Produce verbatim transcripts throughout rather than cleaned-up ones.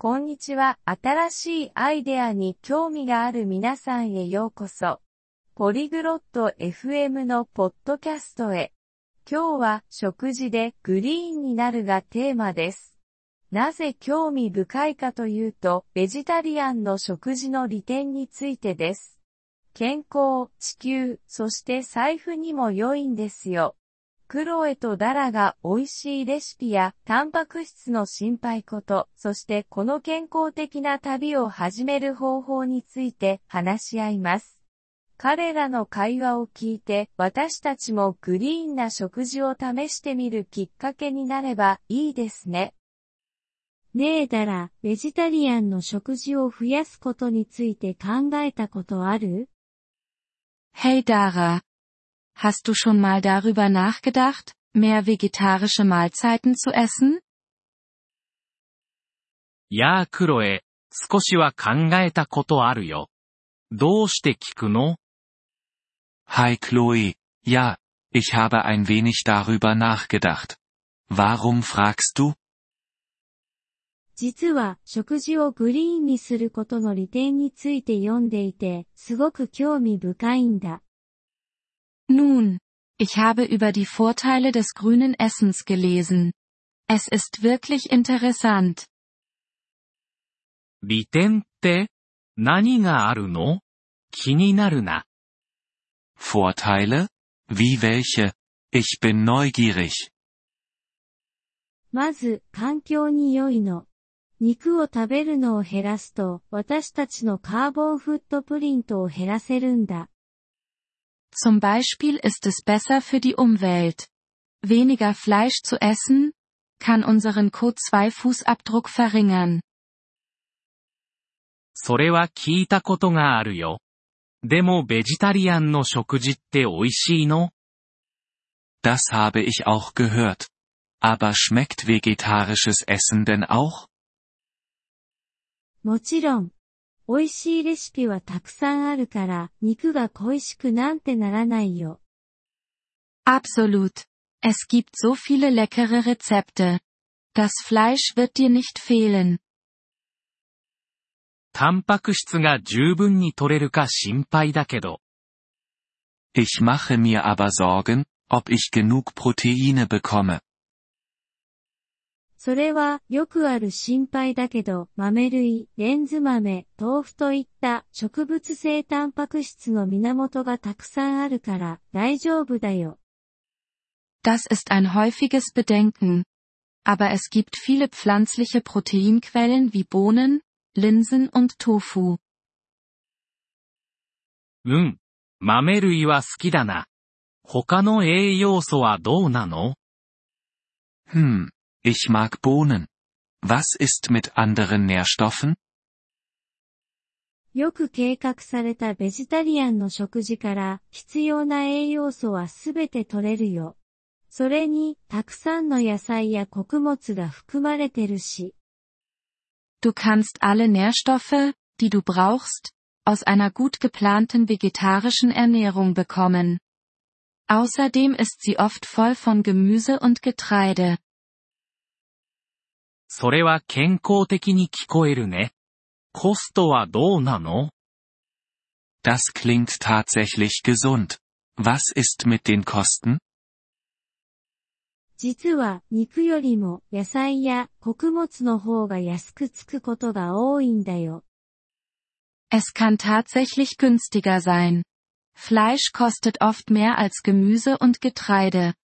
こんにちは。新しいアイデアに興味がある皆さんへようこそ。ポリグロット エフエム のポッドキャストへ。今日は食事でグリーンになるがテーマです。なぜ興味深いかというと、ベジタリアンの食事の利点についてです。健康、地球、そして財布にも良いんですよ。クロエとダラが美味しいレシピやタンパク質の心配こと、そしてこの健康的な旅を始める方法について話し合います。彼らの会話を聞いて私たちもグリーンな食事を試してみるきっかけになればいいですね。ねえダラ、ベジタリアンの食事を増やすことについて考えたことある？ Hey Dara.Hast du schon mal darüber nachgedacht, mehr vegetarische Mahlzeiten zu essen? やあクロエ、少しは考えたことあるよ。どうして聞くの？ Hi Chloe, ja, ich habe ein wenig darüber nachgedacht. Warum fragst du? 実は食事をグリーンにすることの利点について読んでいて、すごく興味深いんだ。 Nun, ich habe über die Vorteile des grünen Essens gelesen. Es ist wirklich interessant. 利点って、何があるの？気になるな。 Vorteile? Wie welche? Ich bin neugierig. まず、環境に良いの。肉を食べるのを減らすと、私たちのカーボンフットプリントを減らせるんだ。 Zum Beispiel ist es besser für die Umwelt. Weniger Fleisch zu essen, kann unseren Co ツー Fußabdruck verringern. それは聞いたことがあるよ。でもベジタリアンの食事って美味しいの？ Das habe ich auch gehört. Aber schmeckt vegetarisches Essen denn auch? もちろん。美味しいレシピはたくさんあるから、肉が恋しくなんてならないよ。 Absolut. Es gibt so viele leckere Rezepte. Das Fleisch wird dir nicht fehlen. タンパク質が十分に取れるか心配だけど。 Ich mache mir aber Sorgen, ob ich genug Proteine bekomme. それはよくある心配だけど、豆類、レンズ豆、豆腐といった植物性タンパク質の源がたくさんあるから大丈夫だよ。 Das ist ein häufiges Bedenken. Aber es gibt viele pflanzliche Proteinquellen wie Bohnen, Linsen und Tofu. うん。豆類は好きだな。他の栄養素はどうなの？ Hm.Ich mag Bohnen. Was ist mit anderen Nährstoffen? よく計画されたベジタリアンの食事から必要な栄養素はすべて取れるよ。それにたくさんの野菜や穀物が含まれてるし。 Du kannst alle Nährstoffe, die du brauchst, aus einer gut geplanten vegetarischen Ernährung bekommen. Außerdem ist sie oft voll von Gemüse und Getreide. それは健康的に聞こえるね。コストはどうなの？ Das klingt tatsächlich gesund. Was ist mit den Kosten? 実は肉よりも野菜や穀物の方が安くつくことが多いんだよ。 Es kann tatsächlich günstiger sein. Fleisch kostet oft mehr als Gemüse und Getreide.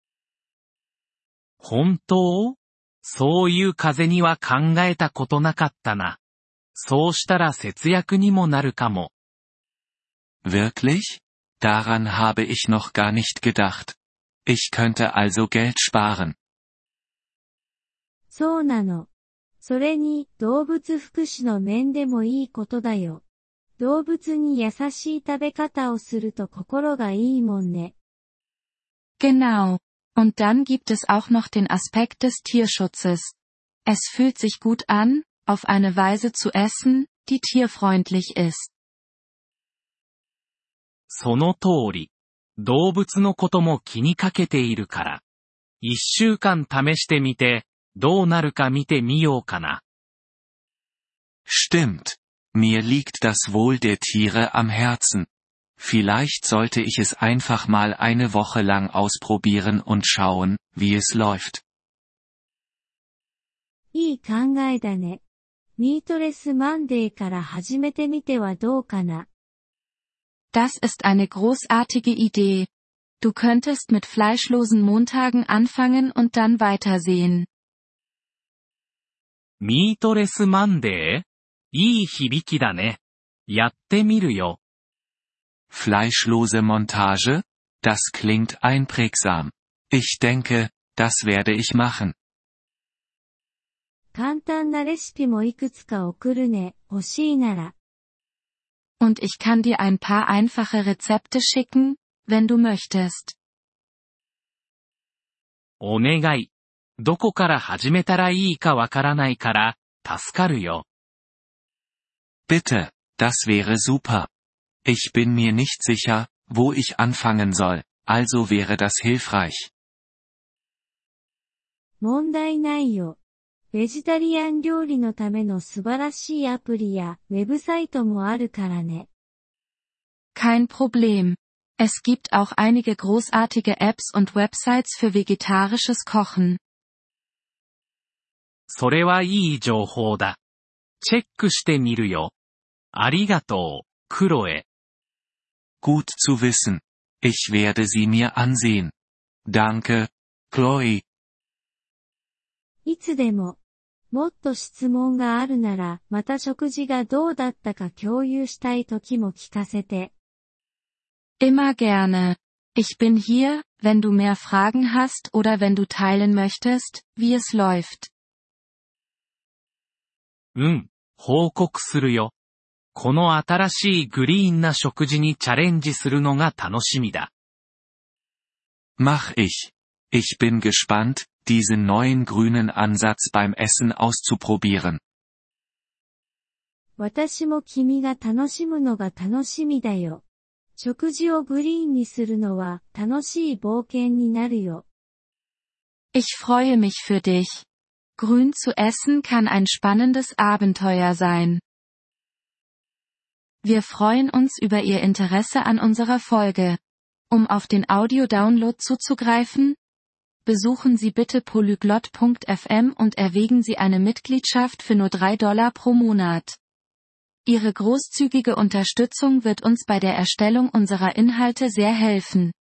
本当？そういう風には考えたことなかったな。そうしたら節約にもなるかも。 Wirklich? Daran habe ich noch gar nicht gedacht. Ich könnte also Geld sparen. そうなの。それに動物福祉の面でもいいことだよ。動物に優しい食べ方をすると心がいいもんね。 Genau.Und dann gibt es auch noch den Aspekt des Tierschutzes. Es fühlt sich gut an, auf eine Weise zu essen, die tierfreundlich ist. その通り。動物のことも気にかけているから。一週間試してみて、どうなるか見てみようかな。 Stimmt. Mir liegt das Wohl der Tiere am Herzen. Vielleicht sollte ich es einfach mal eine Woche lang ausprobieren und schauen, wie es läuft. いい考えだね。ミートレスマンデーから始めてみてはどうかな。 Das ist eine großartige Idee. Du könntest mit fleischlosen Montagen anfangen und dann weitersehen. ミートレスマンデー？いい響きだね。やってみるよ。 Fleischlose Montage? Das klingt einprägsam. Ich denke, das werde ich machen. 簡単なレシピもいくつか送るね、欲しいなら。 Und ich kann dir ein paar einfache Rezepte schicken, wenn du möchtest. お願い。どこから始めたらいいかわからないから、助かるよ。 Bitte, das wäre super. Ich bin mir nicht sicher, wo ich anfangen soll, also wäre das hilfreich. 問題ないよ。ベジタリアン料理のための素晴らしいアプリやウェブサイトもあるからね。 Kein Problem. Es gibt auch einige großartige Apps und Websites für vegetarisches Kochen. それはいい情報だ。チェックしてみるよ。ありがとう、クロエ。 Gut zu wissen. Ich werde sie mir ansehen. Danke, Chloe. いつでも。もっと質問があるなら、また食事がどうだったか共有したい時も聞かせて。 Immer gerne. Ich bin hier, wenn du mehr Fragen hast oder wenn du teilen möchtest, wie es läuft. うん、報告するよ。この新しいグリーンな食事にチャレンジするのが楽しみだ。 Mach ich. Ich bin gespannt, diesen neuen grünen Ansatz beim Essen auszuprobieren. 私も君が楽しむのが楽しみだよ。食事をグリーンにするのは楽しい冒険になるよ。 Ich freue mich für dich. Grün zu essen kann ein spannendes Abenteuer sein. Wir freuen uns über Ihr Interesse an unserer Folge. Um auf den Audio-Download zuzugreifen, besuchen Sie bitte polyglot punkt f m und erwägen Sie eine Mitgliedschaft für nur drei Dollar pro Monat. Ihre großzügige Unterstützung wird uns bei der Erstellung unserer Inhalte sehr helfen.